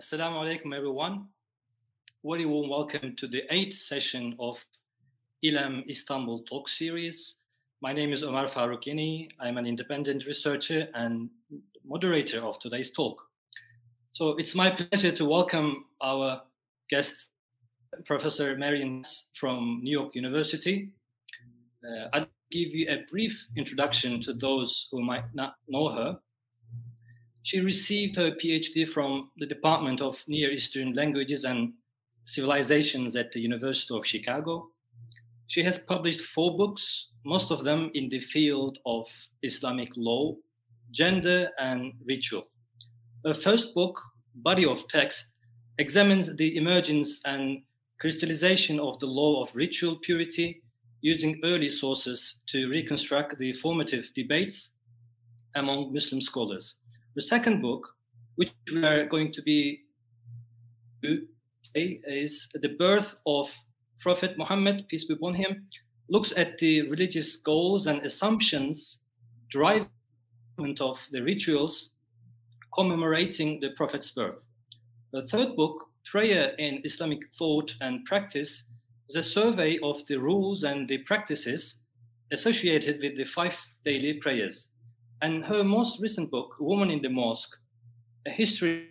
Assalamu alaikum, everyone. Very warm welcome to the 8th session of ILAM Istanbul Talk Series. My name is Omar Faroukini. I'm an independent researcher and moderator of today's talk. So it's my pleasure to welcome our guest, Professor Marian from New York University. I'll give you a brief introduction to those who might not know her. She received her PhD from the Department of Near Eastern Languages and Civilizations at the University of Chicago. She has published 4 books, most of them in the field of Islamic law, gender, and ritual. Her first book, Body of Text, examines the emergence and crystallization of the law of ritual purity using early sources to reconstruct the formative debates among Muslim scholars. The second book, which we are going to be today, is The Birth of Prophet Muhammad, peace be upon him, looks at the religious goals and assumptions driving of the rituals commemorating the Prophet's birth. The third book, Prayer in Islamic Thought and Practice, is a survey of the rules and the practices associated with the 5 daily prayers. And her most recent book, Woman in the Mosque, A History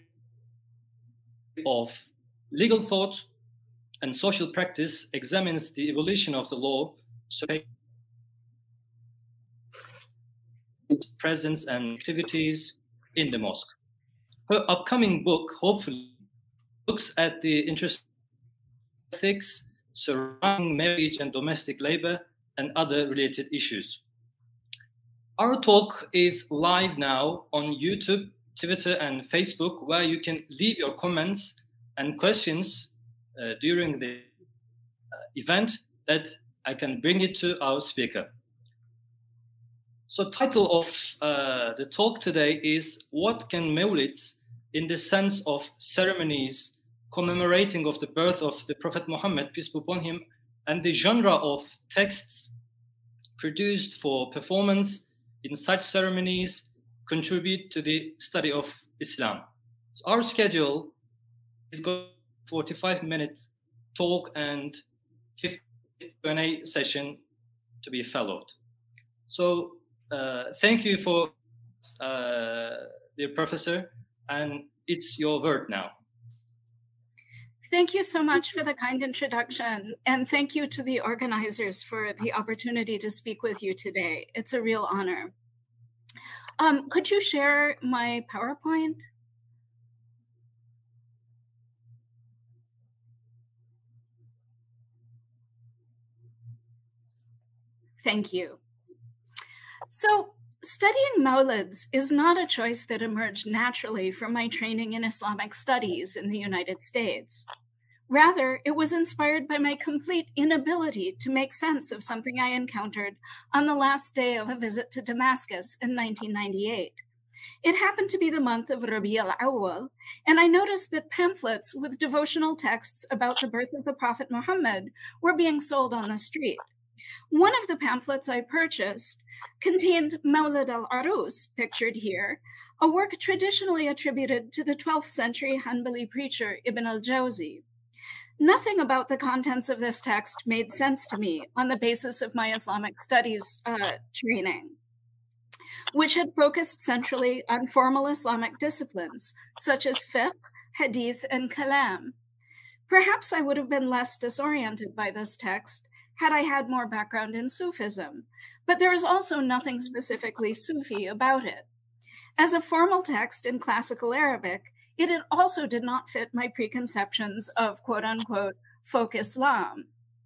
of Legal Thought and Social Practice, examines the evolution of the law, presence and activities in the mosque. Her upcoming book, hopefully, looks at the interest ethics surrounding marriage and domestic labor and other related issues. Our talk is live now on YouTube, Twitter, and Facebook, where you can leave your comments and questions during the event that I can bring it to our speaker. So title of the talk today is What Can Mawlids in the Sense of Ceremonies Commemorating of the Birth of the Prophet Muhammad, peace be upon him, and the genre of texts produced for performance in such ceremonies contribute to the study of Islam. So our schedule is going 45-minute talk and 50 Q&A session to be followed. So thank you for dear professor, and it's your word now. Thank you so much for the kind introduction, and thank you to the organizers for the opportunity to speak with you today. It's a real honor. Could you share my PowerPoint? Thank you. So, studying Mawlids is not a choice that emerged naturally from my training in Islamic studies in the United States. Rather, it was inspired by my complete inability to make sense of something I encountered on the last day of a visit to Damascus in 1998. It happened to be the month of Rabi al-Awwal, and I noticed that pamphlets with devotional texts about the birth of the Prophet Muhammad were being sold on the street. One of the pamphlets I purchased contained Mawlid al-Arus, pictured here, a work traditionally attributed to the 12th century Hanbali preacher Ibn al-Jawzi. Nothing about the contents of this text made sense to me on the basis of my Islamic studies training, which had focused centrally on formal Islamic disciplines, such as fiqh, hadith, and kalam. Perhaps I would have been less disoriented by this text had I had more background in Sufism, but there is also nothing specifically Sufi about it. As a formal text in classical Arabic, it also did not fit my preconceptions of quote-unquote folk Islam.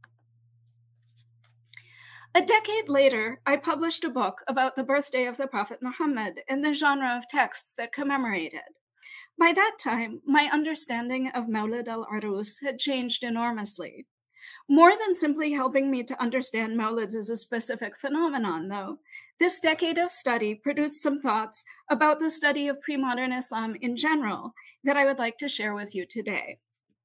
A decade later, I published a book about the birthday of the Prophet Muhammad and the genre of texts that commemorate it. By that time, my understanding of Mawlid al-Arus had changed enormously. More than simply helping me to understand Mawlids as a specific phenomenon, though, this decade of study produced some thoughts about the study of pre-modern Islam in general that I would like to share with you today.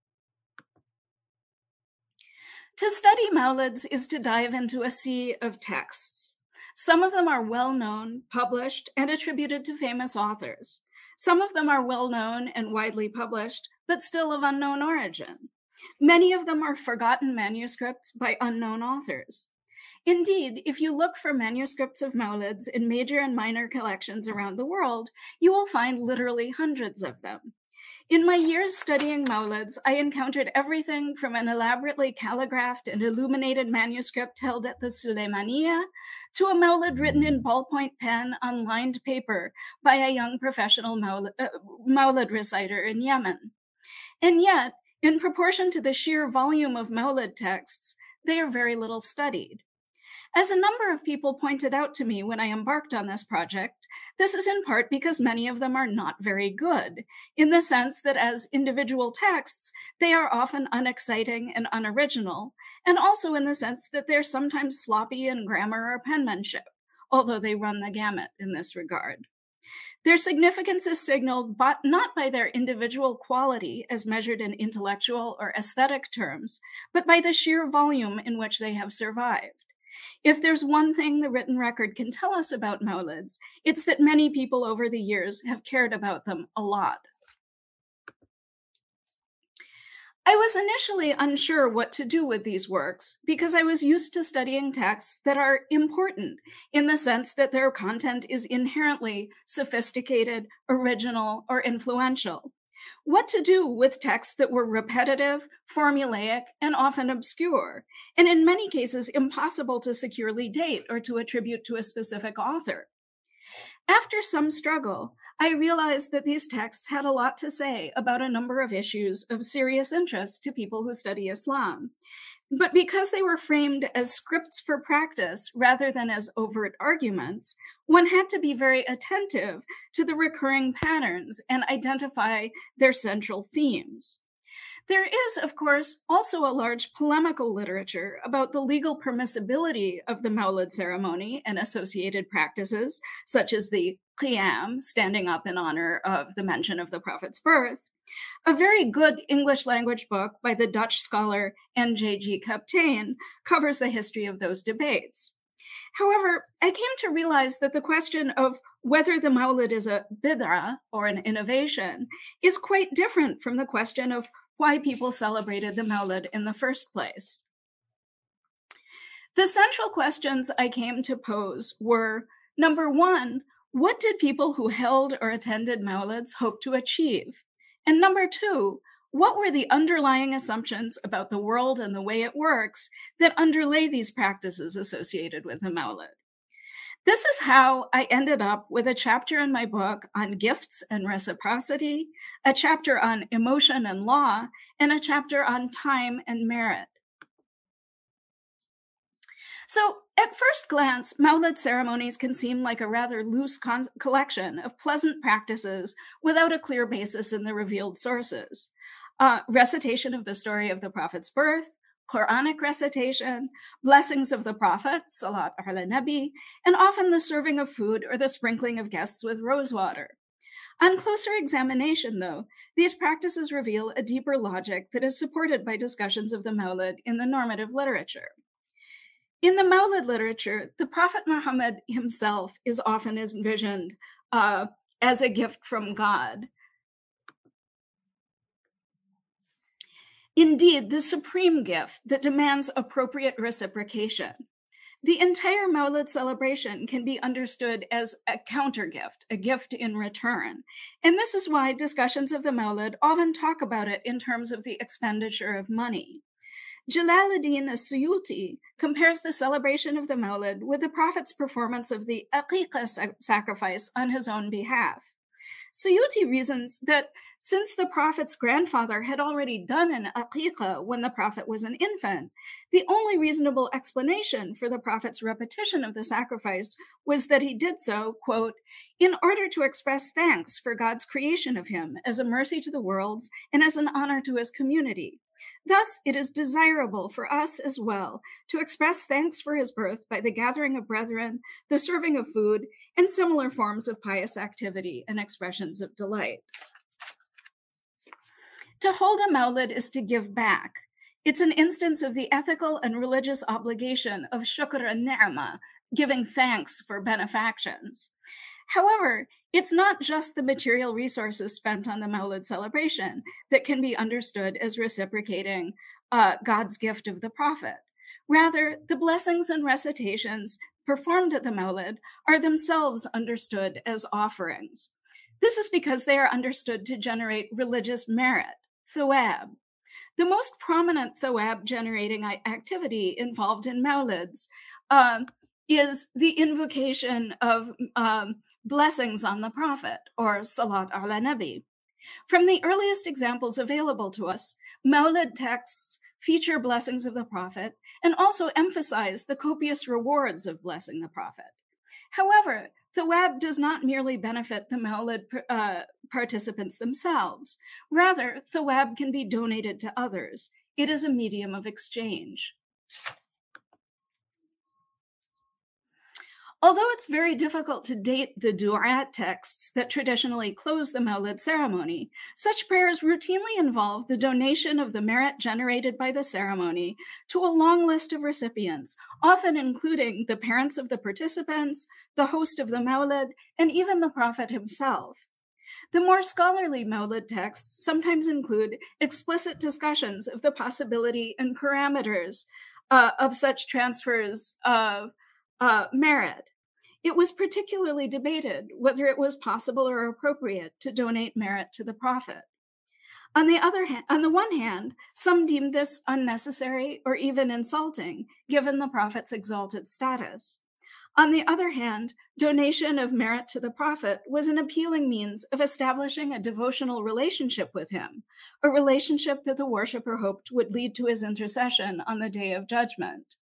To study Mawlids is to dive into a sea of texts. Some of them are well-known, published, and attributed to famous authors. Some of them are well known and widely published, but still of unknown origin. Many of them are forgotten manuscripts by unknown authors. Indeed, if you look for manuscripts of Mawlids in major and minor collections around the world, you will find literally hundreds of them. In my years studying Mawlids, I encountered everything from an elaborately calligraphed and illuminated manuscript held at the Suleymaniya to a Mawlid written in ballpoint pen on lined paper by a young professional Mawlid reciter in Yemen. And yet, in proportion to the sheer volume of Mawlid texts, they are very little studied. As a number of people pointed out to me when I embarked on this project, this is in part because many of them are not very good, in the sense that as individual texts, they are often unexciting and unoriginal, and also in the sense that they're sometimes sloppy in grammar or penmanship, although they run the gamut in this regard. Their significance is signaled not by their individual quality as measured in intellectual or aesthetic terms, but by the sheer volume in which they have survived. If there's one thing the written record can tell us about Mawlids, it's that many people over the years have cared about them a lot. I was initially unsure what to do with these works because I was used to studying texts that are important in the sense that their content is inherently sophisticated, original, or influential. What to do with texts that were repetitive, formulaic, and often obscure, and in many cases impossible to securely date or to attribute to a specific author. After some struggle, I realized that these texts had a lot to say about a number of issues of serious interest to people who study Islam. But because they were framed as scripts for practice rather than as overt arguments, one had to be very attentive to the recurring patterns and identify their central themes. There is, of course, also a large polemical literature about the legal permissibility of the Mawlid ceremony and associated practices, such as the Qiyam, standing up in honor of the mention of the Prophet's birth. A very good English language book by the Dutch scholar N.J.G. Kaptein covers the history of those debates. However, I came to realize that the question of whether the Mawlid is a bid'ah or an innovation is quite different from the question of why people celebrated the Mawlid in the first place. The central questions I came to pose were, number one, what did people who held or attended Mawlids hope to achieve? And number two, what were the underlying assumptions about the world and the way it works that underlay these practices associated with the Mawlid? This is how I ended up with a chapter in my book on gifts and reciprocity, a chapter on emotion and law, and a chapter on time and merit. So, at first glance, Mawlid ceremonies can seem like a rather loose collection of pleasant practices without a clear basis in the revealed sources. Recitation of the story of the Prophet's birth, Quranic recitation, blessings of the Prophet, Salat ala Nabi, and often the serving of food or the sprinkling of guests with rosewater. On closer examination, though, these practices reveal a deeper logic that is supported by discussions of the Mawlid in the normative literature. In the Mawlid literature, the Prophet Muhammad himself is often envisioned as a gift from God. Indeed, the supreme gift that demands appropriate reciprocation. The entire Mawlid celebration can be understood as a counter gift, a gift in return. And this is why discussions of the Mawlid often talk about it in terms of the expenditure of money. Jalaluddin as-Suyuti compares the celebration of the Mawlid with the Prophet's performance of the Aqiqah sacrifice on his own behalf. Suyuti reasons that since the Prophet's grandfather had already done an Aqiqah when the Prophet was an infant, the only reasonable explanation for the Prophet's repetition of the sacrifice was that he did so, quote, in order to express thanks for God's creation of him as a mercy to the worlds and as an honor to his community. Thus, it is desirable for us as well to express thanks for his birth by the gathering of brethren, the serving of food, and similar forms of pious activity and expressions of delight. To hold a Mawlid is to give back. It's an instance of the ethical and religious obligation of shukr and ni'mah, giving thanks for benefactions. However, It's not just the material resources spent on the Mawlid celebration that can be understood as reciprocating God's gift of the Prophet. Rather, the blessings and recitations performed at the Mawlid are themselves understood as offerings. This is because they are understood to generate religious merit, thawab. The most prominent thawab-generating activity involved in Mawlids is the invocation of blessings on the Prophet, or Salat ala Nabi. From the earliest examples available to us, Mawlid texts feature blessings of the Prophet and also emphasize the copious rewards of blessing the Prophet. However, thawab does not merely benefit the Mawlid participants themselves. Rather, thawab can be donated to others. It is a medium of exchange. Although it's very difficult to date the du'at texts that traditionally close the Mawlid ceremony, such prayers routinely involve the donation of the merit generated by the ceremony to a long list of recipients, often including the parents of the participants, the host of the Mawlid, and even the Prophet himself. The more scholarly Mawlid texts sometimes include explicit discussions of the possibility and parameters of such transfers of merit. It was particularly debated whether it was possible or appropriate to donate merit to the Prophet. On the one hand, some deemed this unnecessary or even insulting, given the Prophet's exalted status. On the other hand, donation of merit to the Prophet was an appealing means of establishing a devotional relationship with him, a relationship that the worshipper hoped would lead to his intercession on the Day of Judgment.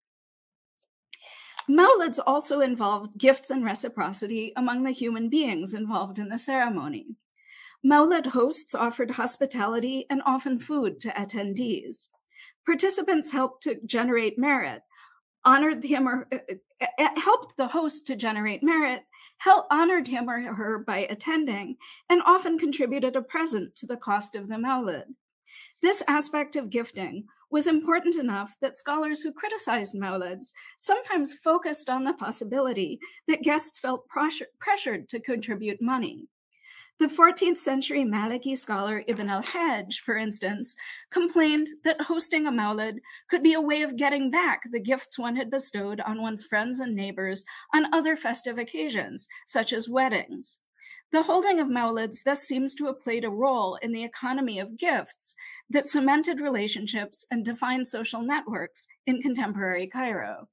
Mawlids also involved gifts and reciprocity among the human beings involved in the ceremony. Mawlid hosts offered hospitality and often food to attendees. Participants helped to generate merit, honored him or helped the host to generate merit, honored him or her by attending, and often contributed a present to the cost of the Mawlid. This aspect of gifting was important enough that scholars who criticized Mawlids sometimes focused on the possibility that guests felt pressured to contribute money. The 14th century Maliki scholar Ibn al-Hajj, for instance, complained that hosting a Mawlid could be a way of getting back the gifts one had bestowed on one's friends and neighbors on other festive occasions, such as weddings. The holding of Mawlids thus seems to have played a role in the economy of gifts that cemented relationships and defined social networks in contemporary Cairo.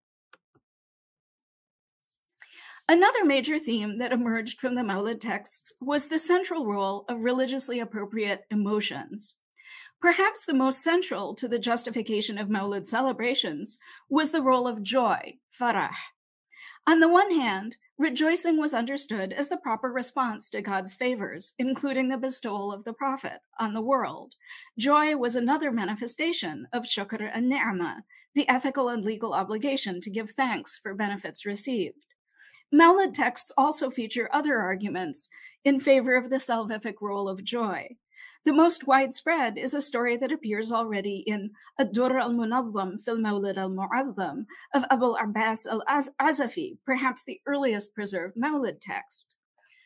Another major theme that emerged from the Mawlid texts was the central role of religiously appropriate emotions. Perhaps the most central to the justification of Mawlid celebrations was the role of joy, farah. On the one hand, rejoicing was understood as the proper response to God's favors, including the bestowal of the Prophet on the world. Joy was another manifestation of shukr and ni'mah, the ethical and legal obligation to give thanks for benefits received. Mawlid texts also feature other arguments in favor of the salvific role of joy. The most widespread is a story that appears already in Ad-Durr al-Munazzam fil Mawlid al-Mu'azzam of Abu al-Abbas al-Azafi, perhaps the earliest preserved Mawlid text.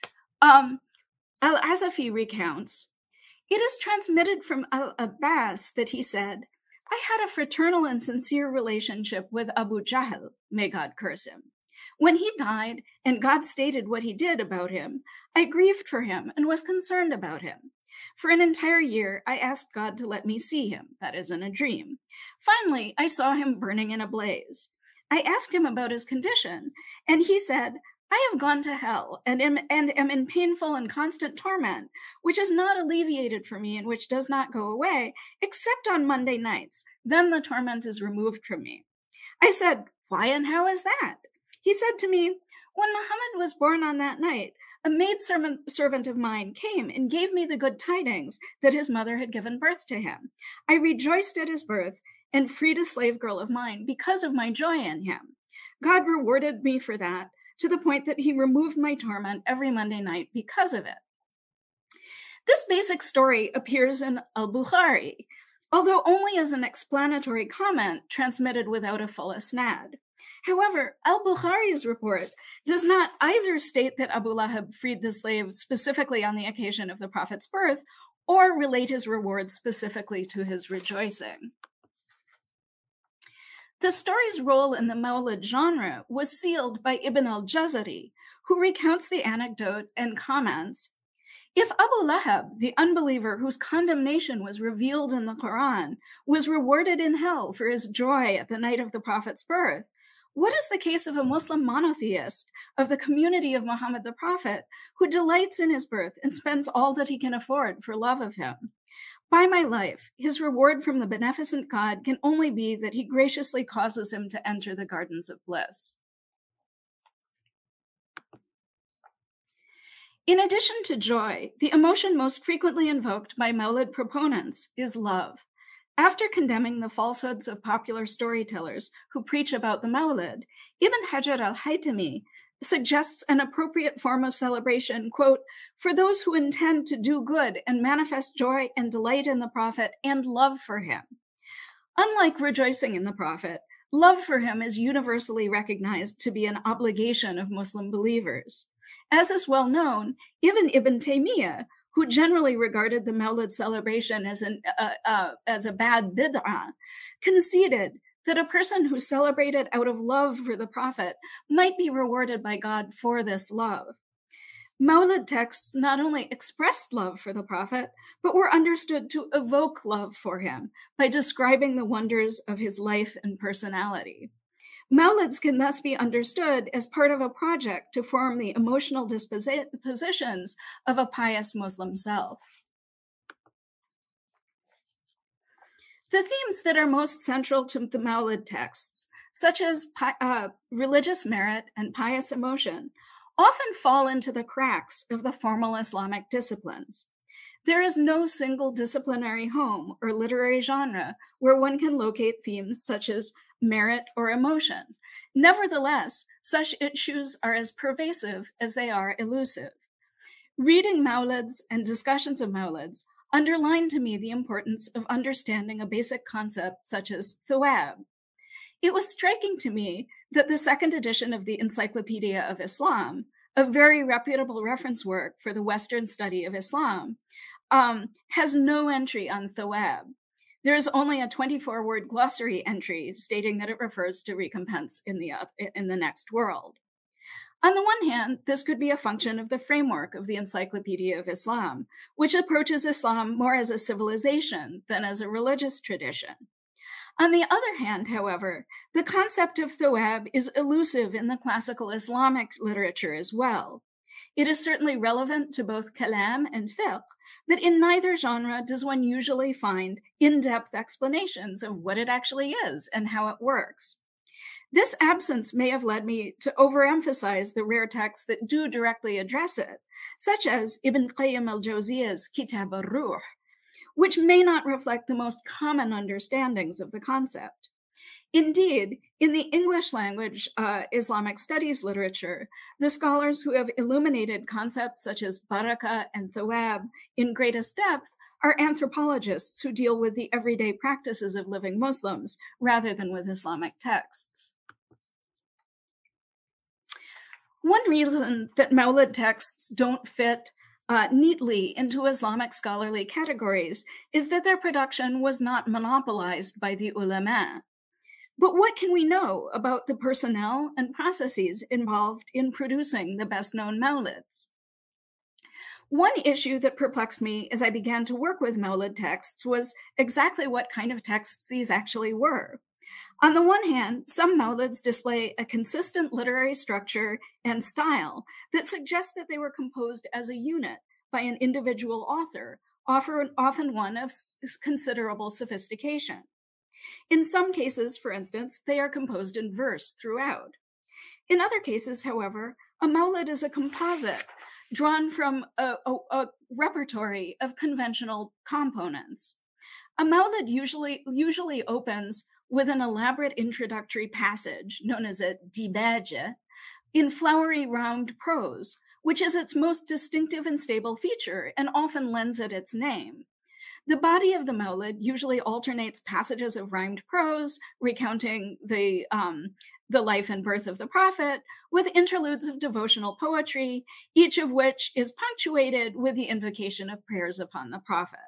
Al-Azafi recounts, "It is transmitted from al-Abbas that he said, 'I had a fraternal and sincere relationship with Abu Jahl, may God curse him. When he died and God stated what he did about him, I grieved for him and was concerned about him. For an entire year, I asked God to let me see him, that is, in a dream. Finally, I saw him burning in a blaze. I asked him about his condition, and he said, I have gone to hell and am in painful and constant torment, which is not alleviated for me and which does not go away, except on Monday nights. Then the torment is removed from me. I said, why and how is that? He said to me, when Muhammad was born on that night, a maidservant of mine came and gave me the good tidings that his mother had given birth to him. I rejoiced at his birth and freed a slave girl of mine because of my joy in him. God rewarded me for that, to the point that he removed my torment every Monday night because of it. This basic story appears in Al-Bukhari, although only as an explanatory comment transmitted without a full isnad. However, al-Bukhari's report does not either state that Abu Lahab freed the slave specifically on the occasion of the Prophet's birth, or relate his reward specifically to his rejoicing. The story's role in the Mawlid genre was sealed by Ibn al-Jazari, who recounts the anecdote and comments, "If Abu Lahab, the unbeliever whose condemnation was revealed in the Quran, was rewarded in hell for his joy at the night of the Prophet's birth, what is the case of a Muslim monotheist of the community of Muhammad the Prophet, who delights in his birth and spends all that he can afford for love of him? By my life, his reward from the beneficent God can only be that he graciously causes him to enter the gardens of bliss." In addition to joy, the emotion most frequently invoked by Mawlid proponents is love. After condemning the falsehoods of popular storytellers who preach about the Mawlid, Ibn Hajar al-Haytami suggests an appropriate form of celebration, quote, "for those who intend to do good and manifest joy and delight in the Prophet and love for him." Unlike rejoicing in the Prophet, love for him is universally recognized to be an obligation of Muslim believers. As is well known, even Ibn Taymiyyah, who generally regarded the Mawlid celebration as a bad bid'ah, conceded that a person who celebrated out of love for the Prophet might be rewarded by God for this love. Mawlid texts not only expressed love for the Prophet, but were understood to evoke love for him by describing the wonders of his life and personality. Mawlids can thus be understood as part of a project to form the emotional dispositions of a pious Muslim self. The themes that are most central to the Mawlid texts, such as religious merit and pious emotion, often fall into the cracks of the formal Islamic disciplines. There is no single disciplinary home or literary genre where one can locate themes such as merit or emotion. Nevertheless, such issues are as pervasive as they are elusive. Reading Mawlids and discussions of Mawlids underline to me the importance of understanding a basic concept such as thawab. It was striking to me that the second edition of the Encyclopedia of Islam, a very reputable reference work for the Western study of Islam, has no entry on thawab. There is only a 24-word glossary entry stating that it refers to recompense in the next world. On the one hand, this could be a function of the framework of the Encyclopedia of Islam, which approaches Islam more as a civilization than as a religious tradition. On the other hand, however, the concept of thawab is elusive in the classical Islamic literature as well. It is certainly relevant to both kalam and fiqh, but in neither genre does one usually find in-depth explanations of what it actually is and how it works. This absence may have led me to overemphasize the rare texts that do directly address it, such as Ibn Qayyim al-Jawziyya's Kitab al-Ruh, which may not reflect the most common understandings of the concept. Indeed, in the English language Islamic studies literature, the scholars who have illuminated concepts such as barakah and thawab in greatest depth are anthropologists who deal with the everyday practices of living Muslims rather than with Islamic texts. One reason that Mawlid texts don't fit neatly into Islamic scholarly categories is that their production was not monopolized by the ulama. But what can we know about the personnel and processes involved in producing the best-known Mawlids? One issue that perplexed me as I began to work with Mawlid texts was exactly what kind of texts these actually were. On the one hand, some Mawlids display a consistent literary structure and style that suggests that they were composed as a unit by an individual author, often one of considerable sophistication. In some cases, for instance, they are composed in verse throughout. In other cases, however, a Mawlid is a composite drawn from a repertory of conventional components. A Mawlid usually opens with an elaborate introductory passage known as a dibaja in flowery rhymed prose, which is its most distinctive and stable feature and often lends it its name. The body of the Mawlid usually alternates passages of rhymed prose, recounting the the life and birth of the Prophet, with interludes of devotional poetry, each of which is punctuated with the invocation of prayers upon the Prophet.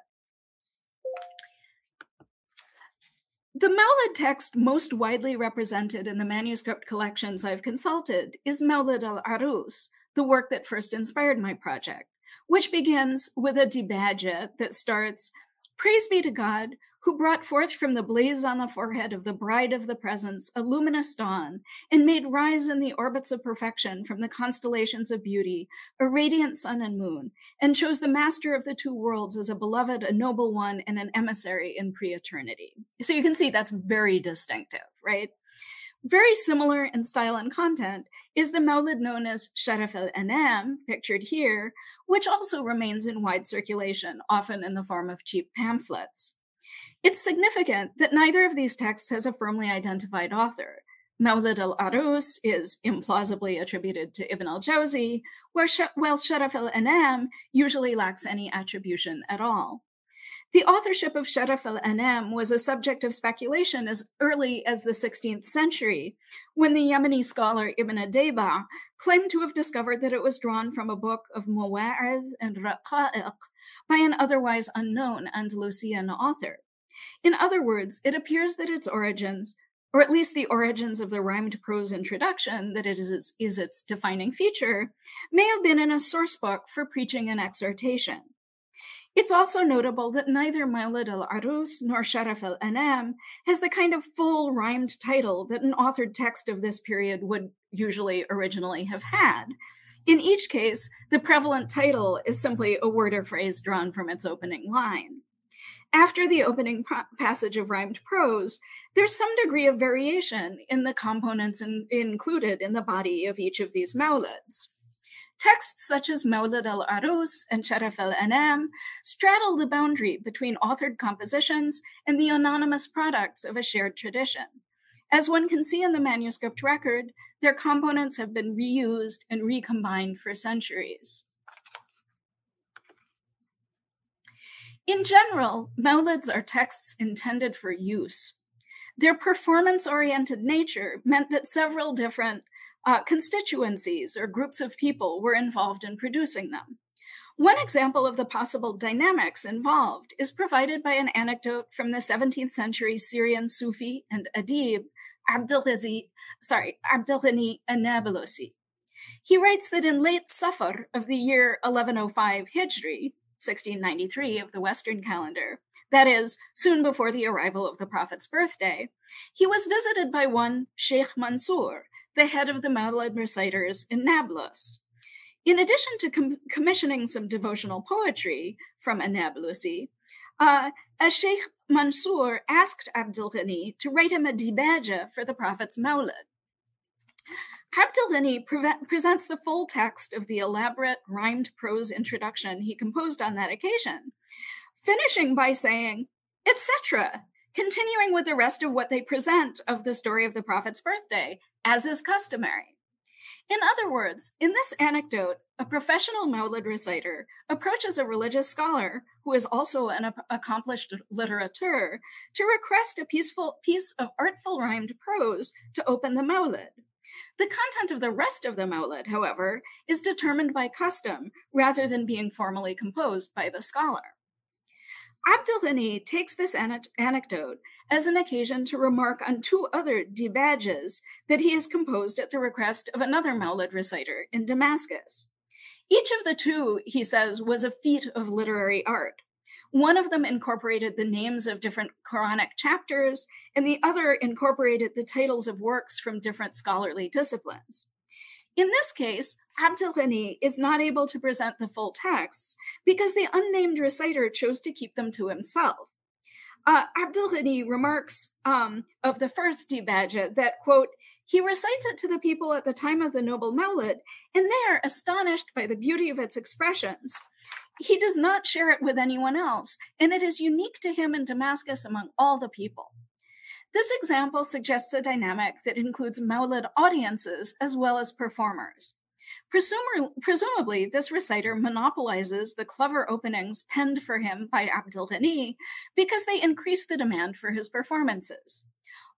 The Mawlid text most widely represented in the manuscript collections I've consulted is Mawlid al-Arus, the work that first inspired my project, which begins with a dibaja that starts, "Praise be to God, who brought forth from the blaze on the forehead of the bride of the presence a luminous dawn, and made rise in the orbits of perfection from the constellations of beauty a radiant sun and moon, and chose the master of the two worlds as a beloved, a noble one, and an emissary in pre-eternity." So you can see that's very distinctive, right? Very similar in style and content is the Mawlid known as Sharaf al-Anam, pictured here, which also remains in wide circulation, often in the form of cheap pamphlets. It's significant that neither of these texts has a firmly identified author. Mawlid al-Arus is implausibly attributed to Ibn al-Jawzi, while Sharaf al-Anam usually lacks any attribution at all. The authorship of Sharaf al-Anam was a subject of speculation as early as the 16th century, when the Yemeni scholar Ibn Adayba claimed to have discovered that it was drawn from a book of Mawa'idh and Raqa'iq by an otherwise unknown Andalusian author. In other words, it appears that its origins, or at least the origins of the rhymed prose introduction that is its defining feature, may have been in a source book for preaching and exhortation. It's also notable that neither Mawlid al-Arus nor Sharaf al-Anam has the kind of full rhymed title that an authored text of this period would usually originally have had. In each case, the prevalent title is simply a word or phrase drawn from its opening line. After the opening passage of rhymed prose, there's some degree of variation in the components included in the body of each of these mawlids. Texts such as Mawlid al-Arus and Sharaf al-Anam straddle the boundary between authored compositions and the anonymous products of a shared tradition. As one can see in the manuscript record, their components have been reused and recombined for centuries. In general, mawlids are texts intended for use. Their performance-oriented nature meant that several different constituencies or groups of people were involved in producing them. One example of the possible dynamics involved is provided by an anecdote from the 17th century Syrian Sufi and Adib, Abdulghani an-Nablusi. He writes that in late Safar of the year 1105 Hijri, 1693 of the Western calendar, that is, soon before the arrival of the Prophet's birthday, he was visited by one Sheikh Mansour, the head of the Mawlid reciters in Nablus. In addition to commissioning some devotional poetry from an-Nablusi, Sheikh Mansour asked Abdulghani to write him a dibaja for the Prophet's Mawlid. Abdulghani presents the full text of the elaborate rhymed prose introduction he composed on that occasion, finishing by saying, etc., continuing with the rest of what they present of the story of the Prophet's birthday, as is customary. In other words, in this anecdote, a professional Mawlid reciter approaches a religious scholar, who is also an accomplished litterateur, to request a piece of artful rhymed prose to open the Mawlid. The content of the rest of the Mawlid, however, is determined by custom rather than being formally composed by the scholar. Abdulghani takes this anecdote as an occasion to remark on two other dibajas that he has composed at the request of another Mawlid reciter in Damascus. Each of the two, he says, was a feat of literary art. One of them incorporated the names of different Quranic chapters, and the other incorporated the titles of works from different scholarly disciplines. In this case, Abdulghani is not able to present the full texts because the unnamed reciter chose to keep them to himself. Abdulghani remarks of the first dibaja that, quote, he recites it to the people at the time of the noble Mawlid, and they are astonished by the beauty of its expressions. He does not share it with anyone else, and it is unique to him in Damascus among all the people. This example suggests a dynamic that includes Mawlid audiences as well as performers. Presumably, this reciter monopolizes the clever openings penned for him by Abdulghani because they increase the demand for his performances.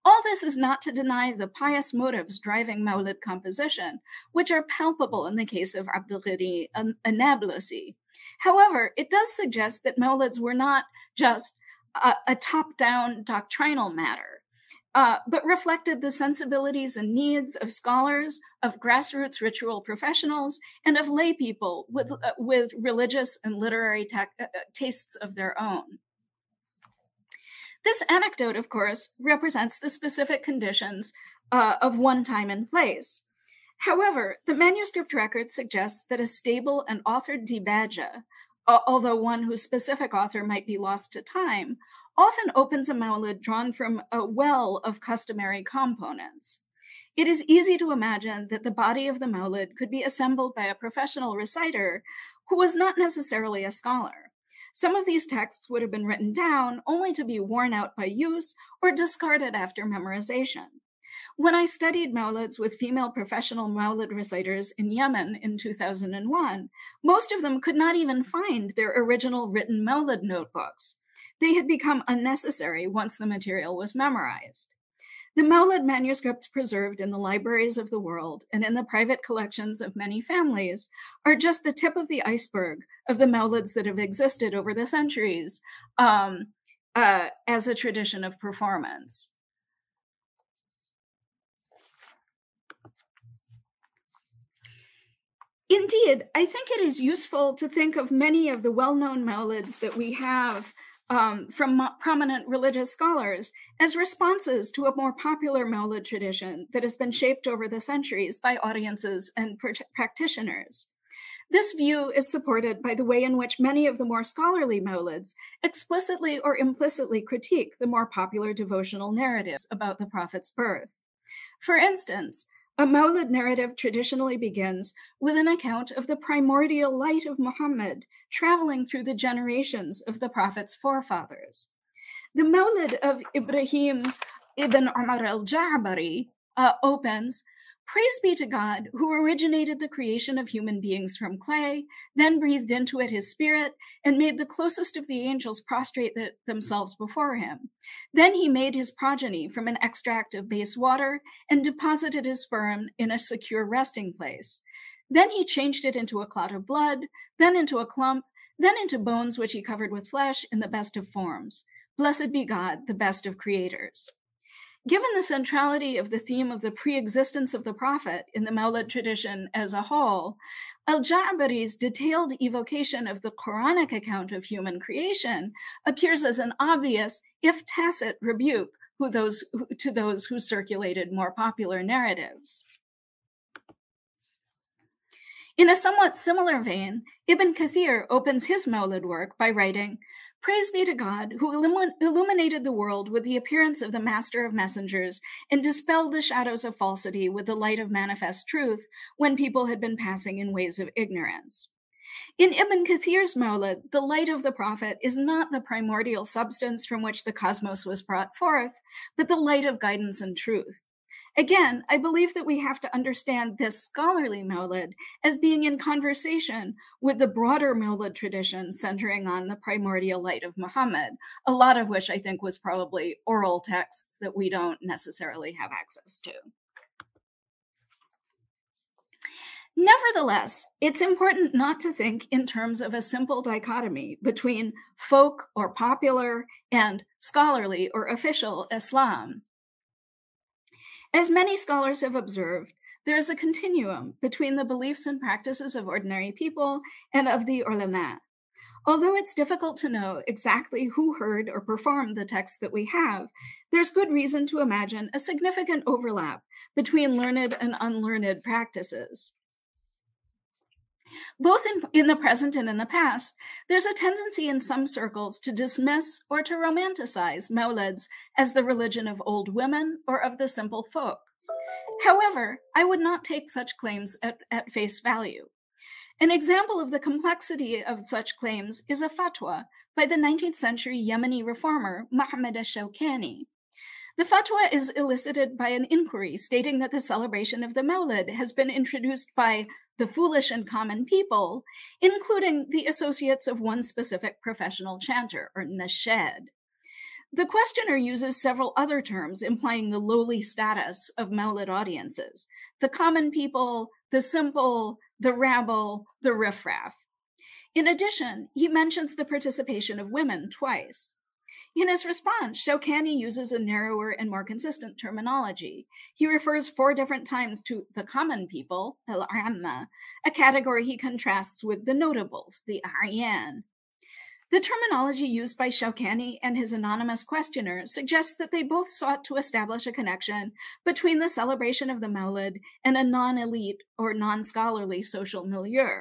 All this is not to deny the pious motives driving Mawlid composition, which are palpable in the case of Abdul Ghani an-Nablusi. However, it does suggest that Mawlids were not just a top-down doctrinal matter, but reflected the sensibilities and needs of scholars, of grassroots ritual professionals, and of lay people with religious and literary tastes of their own. This anecdote, of course, represents the specific conditions of one time and place. However, the manuscript record suggests that a stable and authored dibaja, although one whose specific author might be lost to time, often opens a Mawlid drawn from a well of customary components. It is easy to imagine that the body of the Mawlid could be assembled by a professional reciter who was not necessarily a scholar. Some of these texts would have been written down only to be worn out by use or discarded after memorization. When I studied Mawlids with female professional Mawlid reciters in Yemen in 2001, most of them could not even find their original written Mawlid notebooks. They had become unnecessary once the material was memorized. The Mawlid manuscripts preserved in the libraries of the world and in the private collections of many families are just the tip of the iceberg of the Mawlids that have existed over the centuries as a tradition of performance. Indeed, I think it is useful to think of many of the well-known Mawlids that we have from prominent religious scholars as responses to a more popular Mawlid tradition that has been shaped over the centuries by audiences and practitioners. This view is supported by the way in which many of the more scholarly Mawlids explicitly or implicitly critique the more popular devotional narratives about the Prophet's birth. For instance, a Mawlid narrative traditionally begins with an account of the primordial light of Muhammad traveling through the generations of the Prophet's forefathers. The Mawlid of Ibrahim ibn Umar al-Ja'bari opens, "Praise be to God, who originated the creation of human beings from clay, then breathed into it his spirit, and made the closest of the angels prostrate themselves before him. Then he made his progeny from an extract of base water and deposited his sperm in a secure resting place. Then he changed it into a clot of blood, then into a clump, then into bones which he covered with flesh in the best of forms. Blessed be God, the best of creators." Given the centrality of the theme of the pre-existence of the Prophet in the Mawlid tradition as a whole, al-Ja'bari's detailed evocation of the Quranic account of human creation appears as an obvious, if tacit, rebuke to those who circulated more popular narratives. In a somewhat similar vein, Ibn Kathir opens his Mawlid work by writing, "Praise be to God, who illuminated the world with the appearance of the Master of Messengers and dispelled the shadows of falsity with the light of manifest truth when people had been passing in ways of ignorance." In Ibn Kathir's Mawlid, the light of the Prophet is not the primordial substance from which the cosmos was brought forth, but the light of guidance and truth. Again, I believe that we have to understand this scholarly Mawlid as being in conversation with the broader Mawlid tradition centering on the primordial light of Muhammad, a lot of which I think was probably oral texts that we don't necessarily have access to. Nevertheless, it's important not to think in terms of a simple dichotomy between folk or popular and scholarly or official Islam. As many scholars have observed, there is a continuum between the beliefs and practices of ordinary people and of the ulama. Although it's difficult to know exactly who heard or performed the texts that we have, there's good reason to imagine a significant overlap between learned and unlearned practices. Both in the present and in the past, there's a tendency in some circles to dismiss or to romanticize Mawlids as the religion of old women or of the simple folk. However, I would not take such claims at face value. An example of the complexity of such claims is a fatwa by the 19th century Yemeni reformer Muhammad al-Shawkani. The fatwa is elicited by an inquiry stating that the celebration of the Mawlid has been introduced by the foolish and common people, including the associates of one specific professional chanter, or nashed. The questioner uses several other terms implying the lowly status of Maulid audiences: the common people, the simple, the rabble, the riffraff. In addition, he mentions the participation of women twice. In his response, Shawkani uses a narrower and more consistent terminology. He refers 4 different times to the common people, al-amma, a category he contrasts with the notables, the a'yan. The terminology used by Shawkani and his anonymous questioner suggests that they both sought to establish a connection between the celebration of the Maulid and a non-elite or non-scholarly social milieu.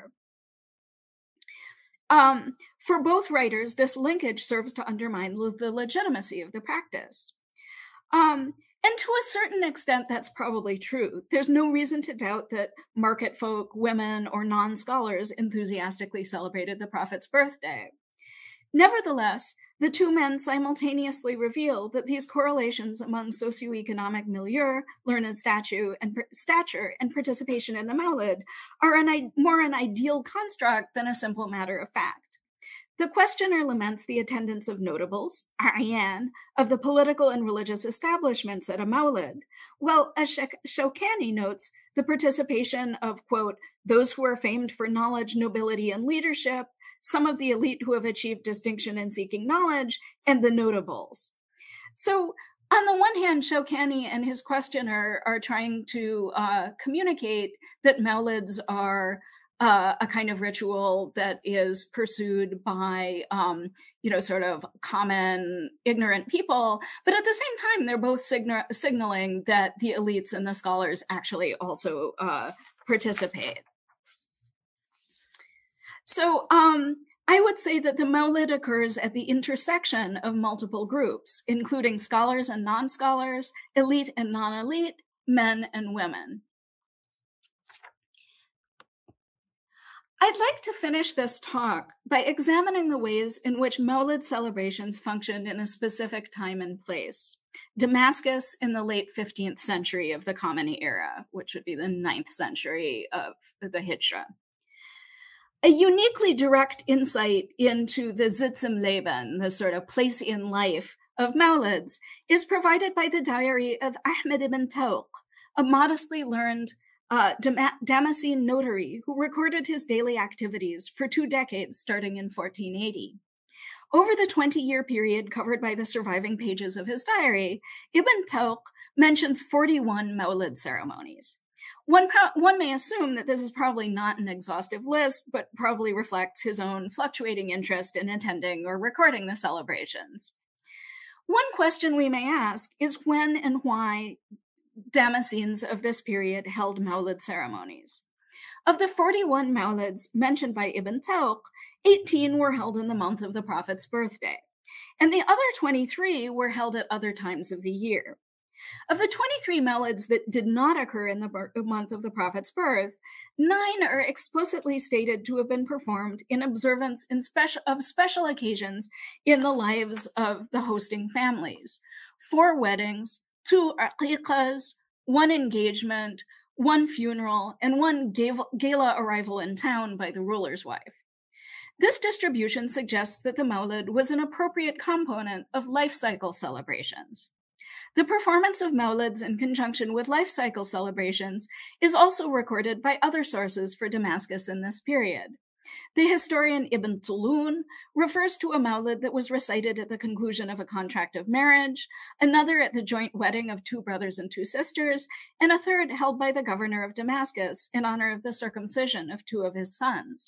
For both writers, this linkage serves to undermine the legitimacy of the practice. And to a certain extent, that's probably true. There's no reason to doubt that market folk, women, or non-scholars enthusiastically celebrated the Prophet's birthday. Nevertheless, the 2 men simultaneously reveal that these correlations among socioeconomic milieu, learned stature, and participation in the Maulid are more an ideal construct than a simple matter of fact. The questioner laments the attendance of notables, a'yan, of the political and religious establishments at a Maulid, while, as Shawkani notes, the participation of, quote, those who are famed for knowledge, nobility, and leadership, some of the elite who have achieved distinction in seeking knowledge, and the notables. So on the one hand, Shawkani and his questioner are trying to communicate that Maulids are a kind of ritual that is pursued by, sort of common ignorant people. But at the same time, they're both signaling that the elites and the scholars actually also participate. So I would say that the Maulid occurs at the intersection of multiple groups, including scholars and non-scholars, elite and non-elite, men and women. I'd like to finish this talk by examining the ways in which Maulid celebrations functioned in a specific time and place. Damascus in the late 15th century of the Khomeini era, which would be the 9th century of the Hijra. A uniquely direct insight into the Sitzim Leben, the sort of place in life of Maulids, is provided by the diary of Ahmed ibn Tawq, a modestly learned Damascene notary who recorded his daily activities for 2 decades starting in 1480. Over the 20-year period covered by the surviving pages of his diary, Ibn Tawq mentions 41 Maulid ceremonies. One may assume that this is probably not an exhaustive list, but probably reflects his own fluctuating interest in attending or recording the celebrations. One question we may ask is when and why Damascenes of this period held Maulid ceremonies. Of the 41 Maulids mentioned by Ibn Tawq, 18 were held in the month of the Prophet's birthday, and the other 23 were held at other times of the year. Of the 23 Maulids that did not occur in the month of the Prophet's birth, 9 are explicitly stated to have been performed in observance of special occasions in the lives of the hosting families: 4 weddings, 2 aqiqahs, 1 engagement, 1 funeral, and 1 gala arrival in town by the ruler's wife. This distribution suggests that the Maulid was an appropriate component of life cycle celebrations. The performance of Maulids in conjunction with life cycle celebrations is also recorded by other sources for Damascus in this period. The historian Ibn Tulun refers to a Maulid that was recited at the conclusion of a contract of marriage, another at the joint wedding of 2 brothers and 2 sisters, and a third held by the governor of Damascus in honor of the circumcision of 2 of his sons.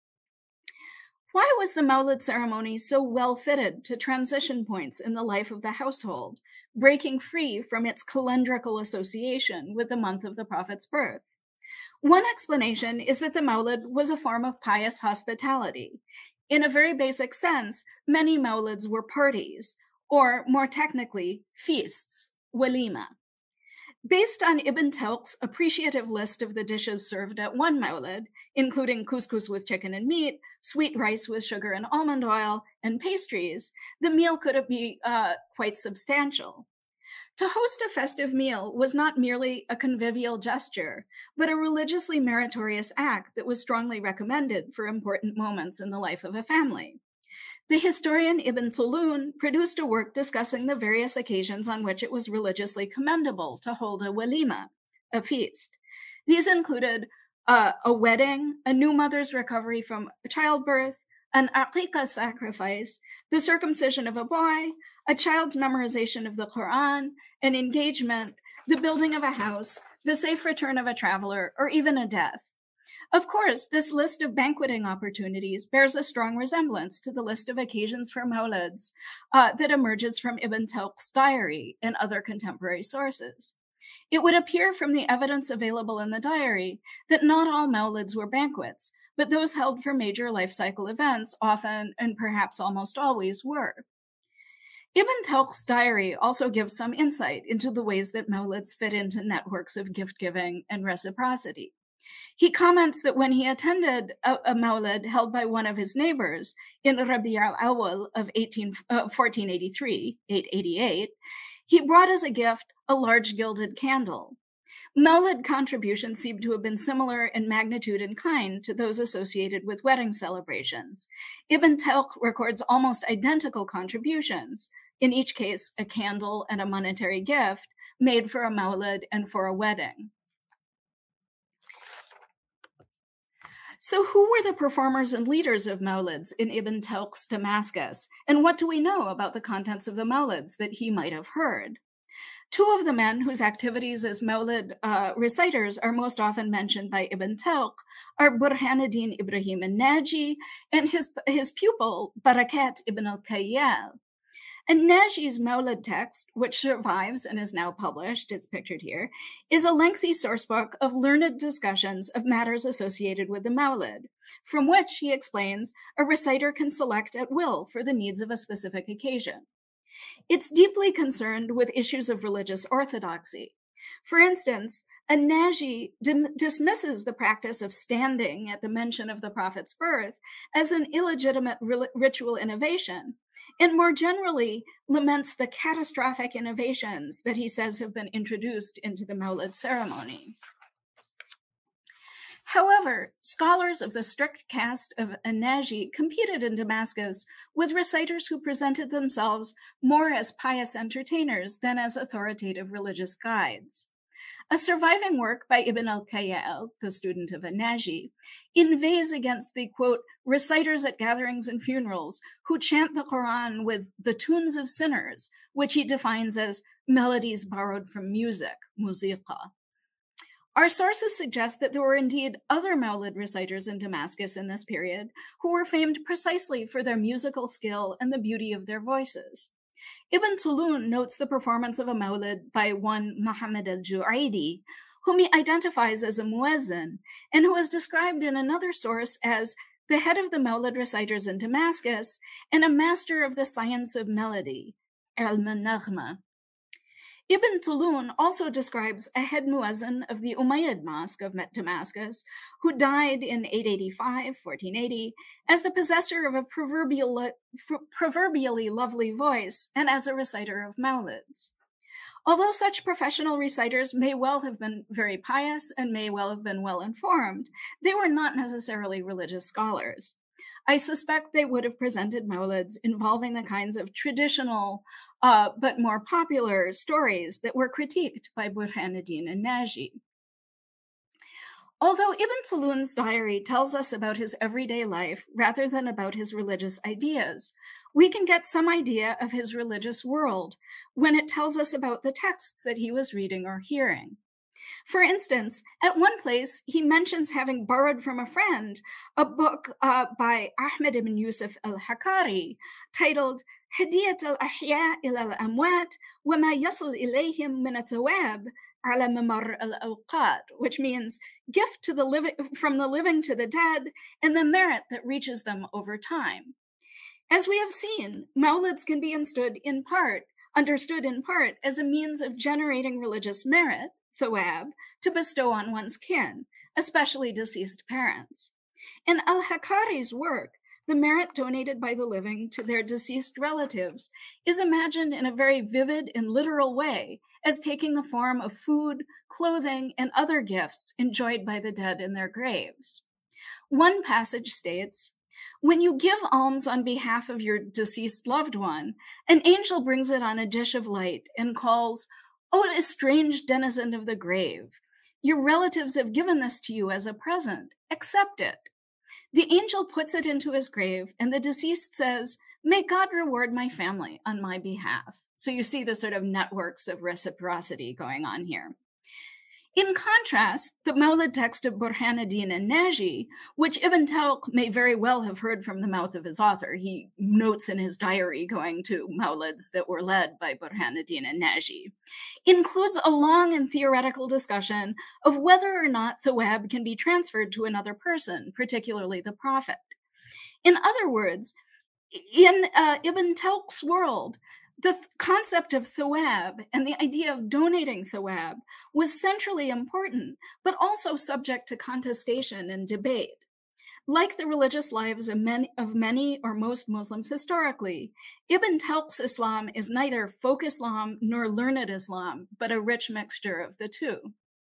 Why was the Maulid ceremony so well fitted to transition points in the life of the household, breaking free from its calendrical association with the month of the Prophet's birth? One explanation is that the Maulid was a form of pious hospitality. In a very basic sense, many Maulids were parties, or more technically, feasts, walima. Based on Ibn Tawq's appreciative list of the dishes served at one Maulid, including couscous with chicken and meat, sweet rice with sugar and almond oil, and pastries, the meal could be quite substantial. To host a festive meal was not merely a convivial gesture, but a religiously meritorious act that was strongly recommended for important moments in the life of a family. The historian Ibn Tulun produced a work discussing the various occasions on which it was religiously commendable to hold a walima, a feast. These included a wedding, a new mother's recovery from childbirth, an aqiqah sacrifice, the circumcision of a boy, a child's memorization of the Quran, an engagement, the building of a house, the safe return of a traveler, or even a death. Of course, this list of banqueting opportunities bears a strong resemblance to the list of occasions for mawlids that emerges from Ibn Tawq's diary and other contemporary sources. It would appear from the evidence available in the diary that not all mawlids were banquets, but those held for major life cycle events often, and perhaps almost always, were. Ibn Tawq's diary also gives some insight into the ways that mawlids fit into networks of gift-giving and reciprocity. He comments that when he attended a mawlid held by one of his neighbors in Rabi' al-Awwal of 1483, 888, he brought as a gift a large gilded candle. Mawlid contributions seem to have been similar in magnitude and kind to those associated with wedding celebrations. Ibn Tawq records almost identical contributions, in each case a candle and a monetary gift, made for a mawlid and for a wedding. So who were the performers and leaders of mawlids in Ibn Tawq's Damascus, and what do we know about the contents of the mawlids that he might have heard? Two of the men whose activities as mawlid reciters are most often mentioned by Ibn Tawq are Burhanuddin Ibrahim al-Naji and his pupil Barakat ibn al-Kayyal. And Naji's mawlid text, which survives and is now published, it's pictured here, is a lengthy sourcebook of learned discussions of matters associated with the mawlid, from which, he explains, a reciter can select at will for the needs of a specific occasion. It's deeply concerned with issues of religious orthodoxy. For instance, An-Naji dismisses the practice of standing at the mention of the Prophet's birth as an illegitimate ritual innovation, and more generally laments the catastrophic innovations that he says have been introduced into the Mawlid ceremony. However, scholars of the strict caste of An-Naji competed in Damascus with reciters who presented themselves more as pious entertainers than as authoritative religious guides. A surviving work by Ibn al-Kayyal, the student of An-Naji, inveighs against the, quote, reciters at gatherings and funerals who chant the Quran with the tunes of sinners, which he defines as melodies borrowed from music, musiqa. Our sources suggest that there were indeed other Mawlid reciters in Damascus in this period who were famed precisely for their musical skill and the beauty of their voices. Ibn Tulun notes the performance of a Mawlid by one Muhammad al-Ju'aydi, whom he identifies as a muezzin, and who is described in another source as the head of the Mawlid reciters in Damascus and a master of the science of melody, ilm al-naghma. Ibn Tulun also describes a head muezzin of the Umayyad Mosque of Damascus, who died in 885, 1480, as the possessor of a proverbially lovely voice and as a reciter of mawlids. Although such professional reciters may well have been very pious and may well have been well informed, they were not necessarily religious scholars. I suspect they would have presented mawlids involving the kinds of traditional but more popular stories that were critiqued by Burhanuddin an-Naji. Although Ibn Tulun's diary tells us about his everyday life rather than about his religious ideas, we can get some idea of his religious world when it tells us about the texts that he was reading or hearing. For instance, at one place, he mentions having borrowed from a friend a book by Ahmed ibn Yusuf al-Hakari titled Hadiyat al-Ahya ila al-Amwat wa ma yasil ilayhim min athawab ala mamar al-awqat, which means gift to the living, from the living to the dead, and the merit that reaches them over time. As we have seen, mawlids can be understood in part as a means of generating religious merit, thawab, to bestow on one's kin, especially deceased parents. In al-Hakari's work, the merit donated by the living to their deceased relatives is imagined in a very vivid and literal way as taking the form of food, clothing, and other gifts enjoyed by the dead in their graves. One passage states, When you give alms on behalf of your deceased loved one, an angel brings it on a dish of light and calls, "O estranged denizen of the grave, your relatives have given this to you as a present. Accept it." The angel puts it into his grave, and the deceased says, "May God reward my family on my behalf." So you see the sort of networks of reciprocity going on here. In contrast, the Mawlid text of Burhanuddin an-Naji, which Ibn Talq may very well have heard from the mouth of his author, he notes in his diary going to Mawlids that were led by Burhanuddin an-Naji, includes a long and theoretical discussion of whether or not thawab can be transferred to another person, particularly the Prophet. In other words, in Ibn Talq's world, the concept of thawab and the idea of donating thawab was centrally important, but also subject to contestation and debate. Like the religious lives of many or most Muslims historically, Ibn Talq's Islam is neither folk Islam nor learned Islam, but a rich mixture of the two.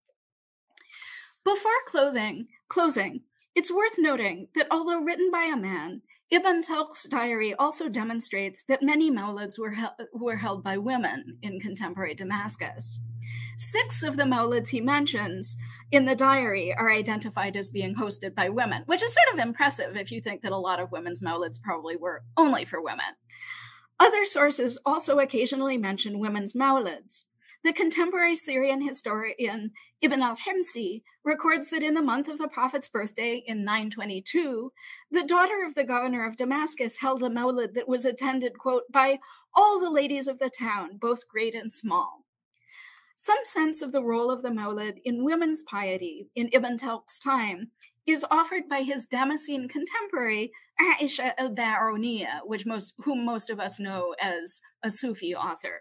Before closing, it's worth noting that although written by a man, Ibn Talq's diary also demonstrates that many Mawlids were held by women in contemporary Damascus. 6 of the Mawlids he mentions in the diary are identified as being hosted by women, which is sort of impressive if you think that a lot of women's Mawlids probably were only for women. Other sources also occasionally mention women's Mawlids. The contemporary Syrian historian Ibn al-Himsi records that in the month of the Prophet's birthday in 922, the daughter of the governor of Damascus held a Mawlid that was attended, quote, by all the ladies of the town, both great and small. Some sense of the role of the Mawlid in women's piety in Ibn Talq's time is offered by his Damascene contemporary Aisha al-Ba'uniya, whom most of us know as a Sufi author.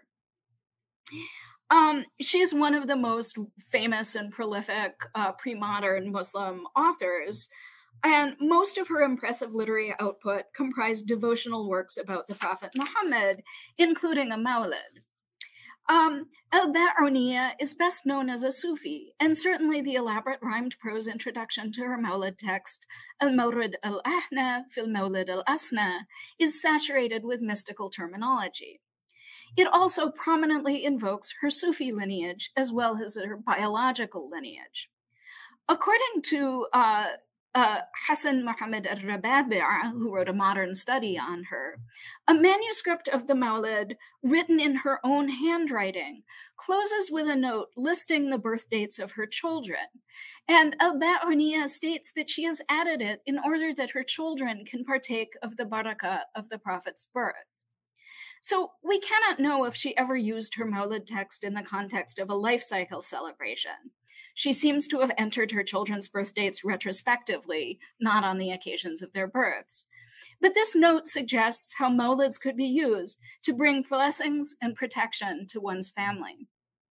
She is one of the most famous and prolific pre-modern Muslim authors, and most of her impressive literary output comprised devotional works about the Prophet Muhammad, including a Mawlid. Al-Ba'uniya is best known as a Sufi, and certainly the elaborate rhymed prose introduction to her Mawlid text, Al-Mawrid al-Ahna fil Mawlid al-Asna, is saturated with mystical terminology. It also prominently invokes her Sufi lineage as well as her biological lineage. According to Hassan Muhammad al-Rababi', who wrote a modern study on her, a manuscript of the Mawlid written in her own handwriting closes with a note listing the birth dates of her children. And al-Ba'uniya states that she has added it in order that her children can partake of the barakah of the Prophet's birth. So we cannot know if she ever used her Mawlid text in the context of a life cycle celebration. She seems to have entered her children's birth dates retrospectively, not on the occasions of their births. But this note suggests how Mawlids could be used to bring blessings and protection to one's family.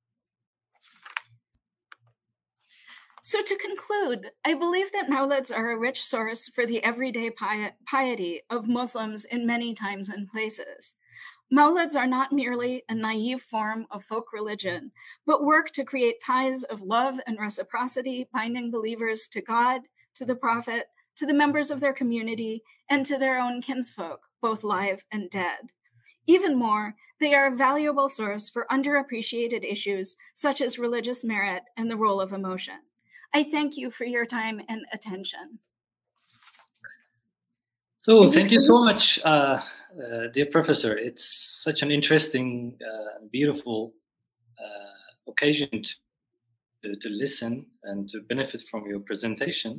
So to conclude, I believe that Mawlids are a rich source for the everyday piety of Muslims in many times and places. Mawlids are not merely a naive form of folk religion, but work to create ties of love and reciprocity, binding believers to God, to the Prophet, to the members of their community, and to their own kinsfolk, both live and dead. Even more, they are a valuable source for underappreciated issues such as religious merit and the role of emotion. I thank you for your time and attention. So thank you so much, dear professor. It's such an interesting and beautiful occasion to listen and to benefit from your presentation.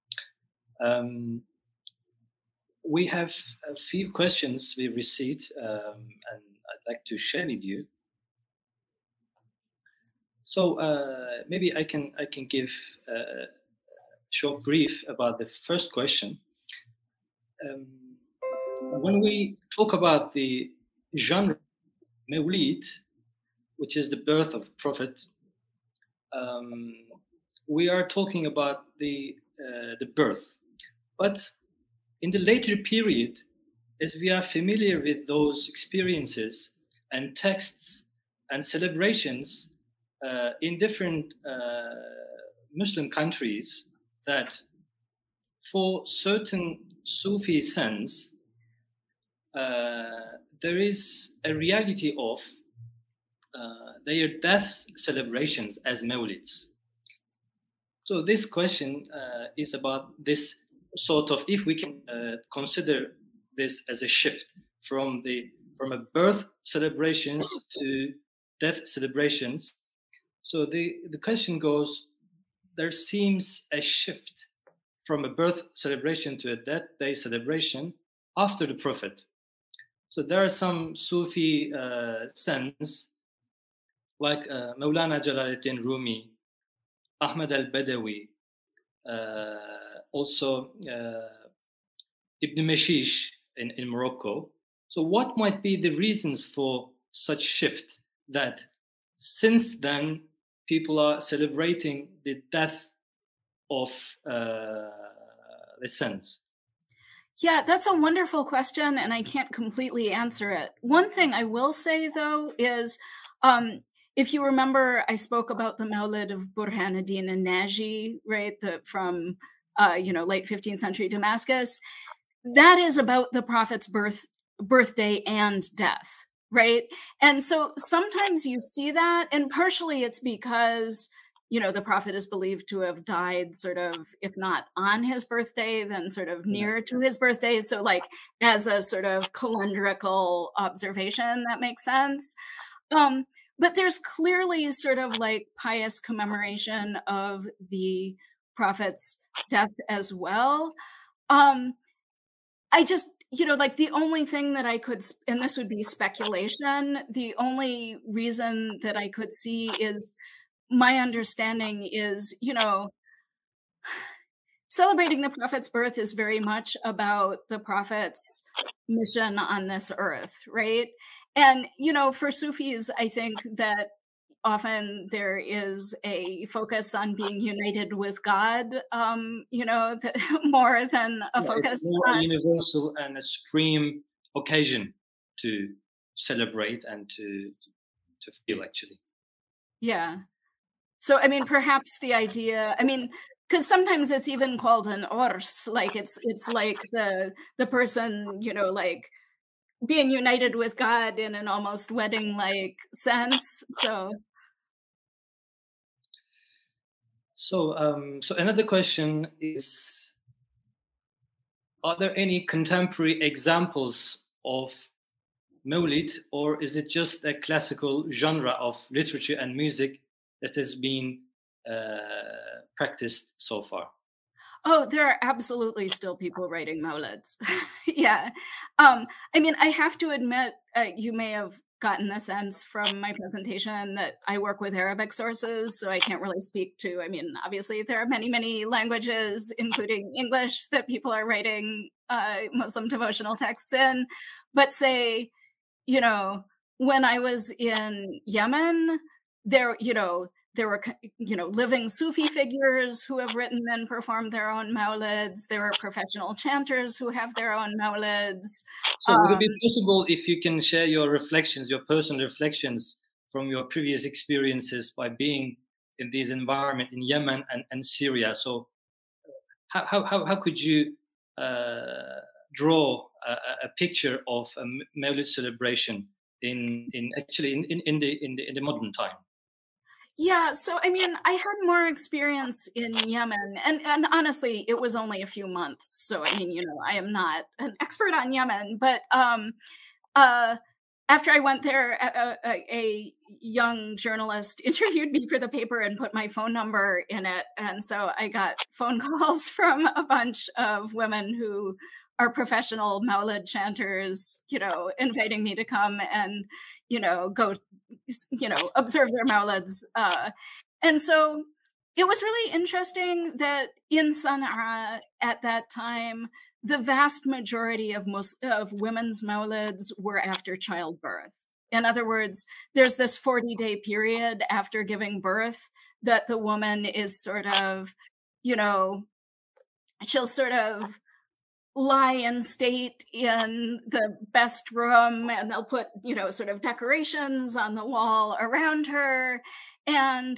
We have a few questions we received, and I'd like to share with you. So maybe I can give a short brief about the first question. When we talk about the genre Mawlid, which is the birth of Prophet, we are talking about the birth. But in the later period, as we are familiar with those experiences and texts and celebrations in different Muslim countries, that for certain Sufi sense, there is a reality of their death celebrations as Mawlids. So this question is about this sort of, if we can consider this as a shift from a birth celebrations to death celebrations. So the question goes, there seems a shift from a birth celebration to a death day celebration after the Prophet. So there are some Sufi sense, like Maulana Jalaluddin Rumi, Ahmad al-Badawi, also Ibn Mashish in Morocco. So what might be the reasons for such shift, that since then people are celebrating the death of the saints? Yeah, that's a wonderful question, and I can't completely answer it. One thing I will say, though, is if you remember, I spoke about the Mawlid of Burhanuddin an-Naji, right, from late 15th century Damascus. That is about the Prophet's birthday and death, right? And so sometimes you see that, and partially it's because the Prophet is believed to have died sort of, if not on his birthday, then sort of near to his birthday. So like as a sort of calendrical observation, that makes sense. But there's clearly sort of like pious commemoration of the Prophet's death as well. I just, like the only thing that I could, and this would be speculation, the only reason that I could see is, my understanding is, celebrating the Prophet's birth is very much about the Prophet's mission on this earth, right? And, for Sufis, I think that often there is a focus on being united with God, more than a focus it's more on universal and a supreme occasion to celebrate and to feel, actually. Yeah. So, I mean, perhaps the idea, because sometimes it's even called an ors, like it's like the person, like being united with God in an almost wedding-like sense. So another question is, are there any contemporary examples of Mawlid, or is it just a classical genre of literature and music that has been practiced so far? Oh, there are absolutely still people writing Mawlids. Yeah. I have to admit, you may have gotten the sense from my presentation that I work with Arabic sources, so I can't really speak to, obviously there are many, many languages, including English, that people are writing Muslim devotional texts in. But say, when I was in Yemen, there were, living Sufi figures who have written and performed their own Mawlids. There are professional chanters who have their own Mawlids. So would it be possible if you can share your reflections, your personal reflections from your previous experiences by being in this environment in Yemen and Syria? So how could you draw a picture of a Mawlid celebration in the modern time? Yeah, so I had more experience in Yemen, and honestly, it was only a few months. So I am not an expert on Yemen, but after I went there, a young journalist interviewed me for the paper and put my phone number in it, and so I got phone calls from a bunch of women who are professional Mawlid chanters, inviting me to come and, go, observe their Mawlids. And so it was really interesting that in Sana'a at that time, the vast majority of women's Mawlids were after childbirth. In other words, there's this 40-day period after giving birth that the woman is sort of, she'll sort of lie in state in the best room, and they'll put, sort of decorations on the wall around her. And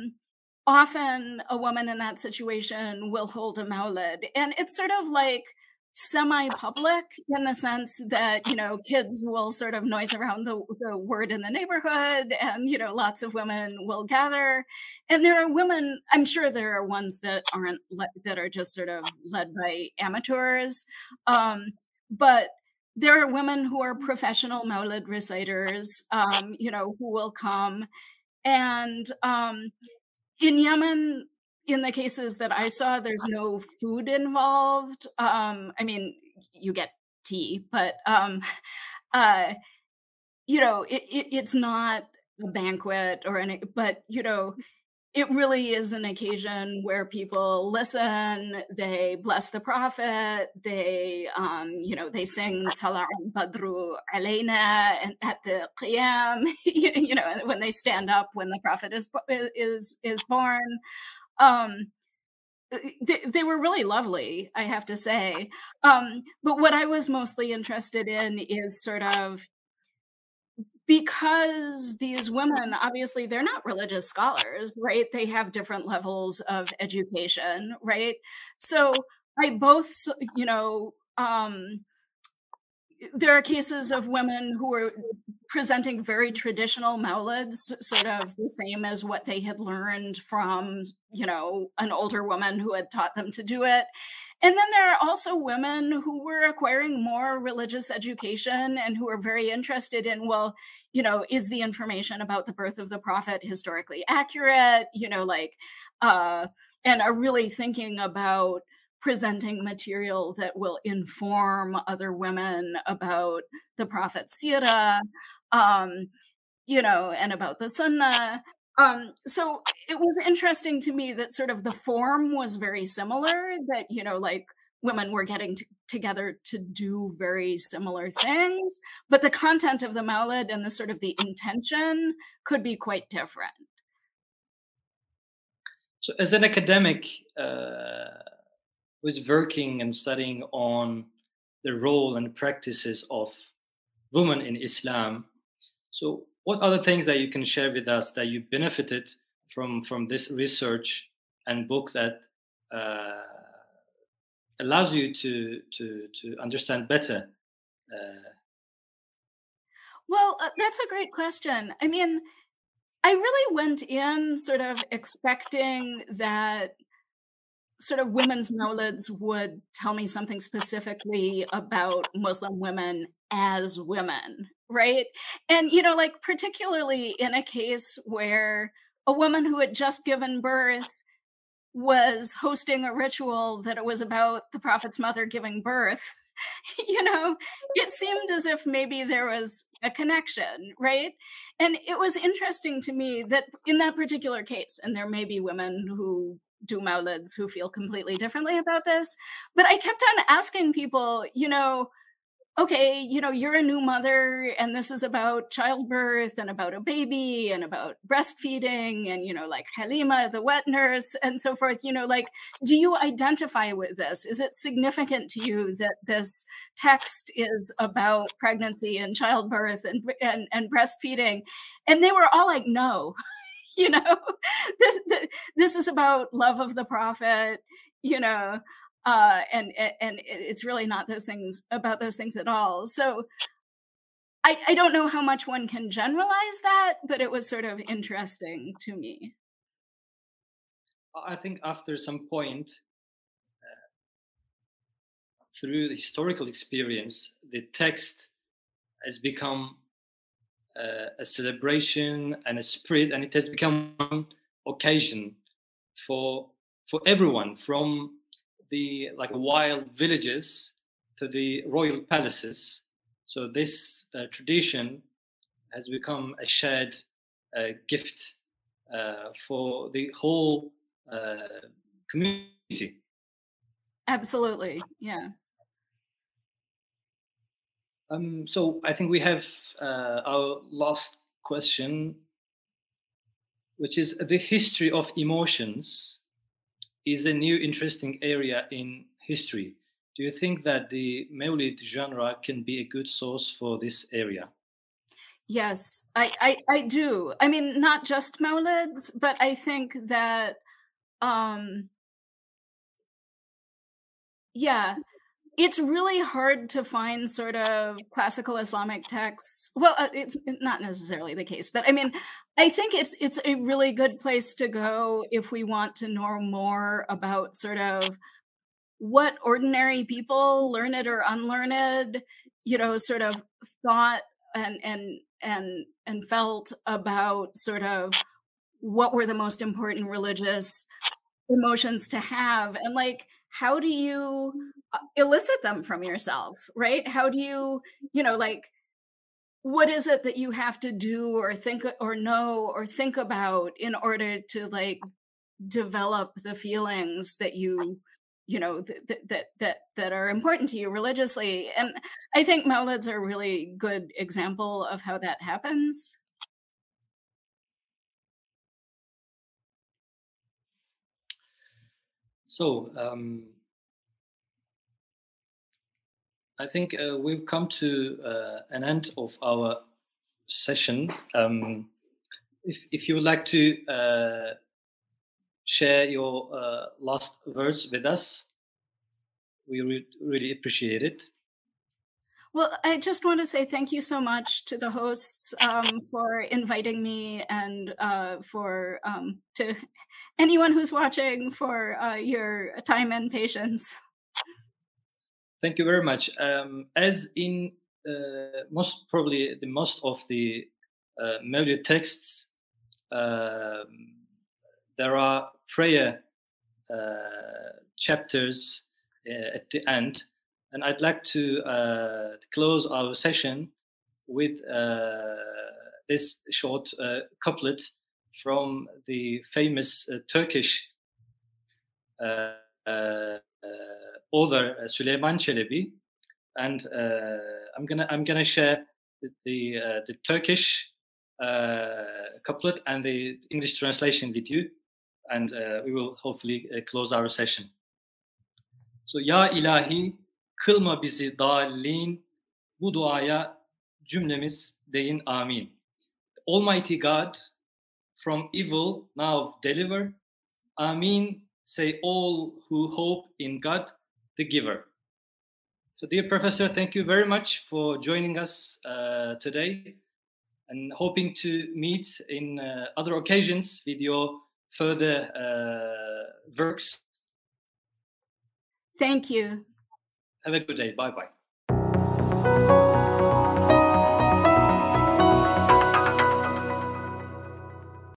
often a woman in that situation will hold a Mawlid. And it's sort of like semi-public in the sense that, kids will sort of noise around the word in the neighborhood and, lots of women will gather. And there are women, I'm sure there are ones that aren't, that are just sort of led by amateurs. But there are women who are professional Maulid reciters, who will come. And in Yemen, in the cases that I saw, there's no food involved. I mean, you get tea, but it's not a banquet or any, but it really is an occasion where people listen, they bless the Prophet, they sing Tala Badru Alayna and at the Qiyam, when they stand up when the Prophet is born. They were really lovely, I have to say. But what I was mostly interested in is sort of, because these women, obviously, they're not religious scholars, right? They have different levels of education, right? So I both, there are cases of women who are presenting very traditional maulids, sort of the same as what they had learned from, an older woman who had taught them to do it. And then there are also women who were acquiring more religious education and who are very interested in, well, is the information about the birth of the Prophet historically accurate? And are really thinking about presenting material that will inform other women about the Prophet's seerah, and about the Sunnah. So it was interesting to me that sort of the form was very similar, that, women were getting together to do very similar things, but the content of the Maulid and the sort of the intention could be quite different. So as an academic who's working and studying on the role and practices of women in Islam, so what are the things that you can share with us that you benefited from this research and book that allows you to understand better? Well, that's a great question. I mean, I really went in sort of expecting that sort of women's maulids would tell me something specifically about Muslim women as women, right? And, particularly in a case where a woman who had just given birth was hosting a ritual that it was about the Prophet's mother giving birth, it seemed as if maybe there was a connection, right? And it was interesting to me that in that particular case, and there may be women who do maulids who feel completely differently about this, but I kept on asking people, okay, you're a new mother and this is about childbirth and about a baby and about breastfeeding and, like Halima, the wet nurse and so forth, do you identify with this? Is it significant to you that this text is about pregnancy and childbirth and breastfeeding? And they were all like, no, this is about love of the Prophet, and it's really not about those things at all. So I don't know how much one can generalize that, but it was sort of interesting to me. I think after some point, through the historical experience, the text has become a celebration and a spirit, and it has become an occasion for everyone, from the wild villages to the royal palaces. So this tradition has become a shared gift for the whole community. Absolutely, yeah. So I think we have our last question, which is the history of emotions is a new interesting area in history. Do you think that the Maulid genre can be a good source for this area? Yes, I do. I mean, not just Maulids, but I think that, yeah, it's really hard to find sort of classical Islamic texts. Well, it's not necessarily the case, but I mean, I think it's a really good place to go if we want to know more about sort of what ordinary people, learned or unlearned, sort of thought and felt about sort of what were the most important religious emotions to have, and like, how do you elicit them from yourself, right? How do you, like, what is it that you have to do or think or know or think about in order to like develop the feelings that that are important to you religiously? And I think Mawlids are a really good example of how that happens. So I think we've come to an end of our session. If you would like to share your last words with us, we really appreciate it. Well, I just want to say thank you so much to the hosts for inviting me, and for to anyone who's watching for your time and patience. Thank you very much. As in most probably the most of the Mawlid texts, there are prayer chapters at the end, and I'd like to close our session with this short couplet from the famous Turkish author Süleyman Çelebi, and I'm gonna share the Turkish couplet and the English translation with you, and we will hopefully close our session. So, Ya ilahi, kılma bizi dallin, bu duaya cümlemiz deyin amin. Almighty God, from evil now deliver, amin, say all who hope in God, the giver. So, dear Professor, thank you very much for joining us today, and hoping to meet in other occasions with your further works. Thank you. Have a good day. Bye-bye.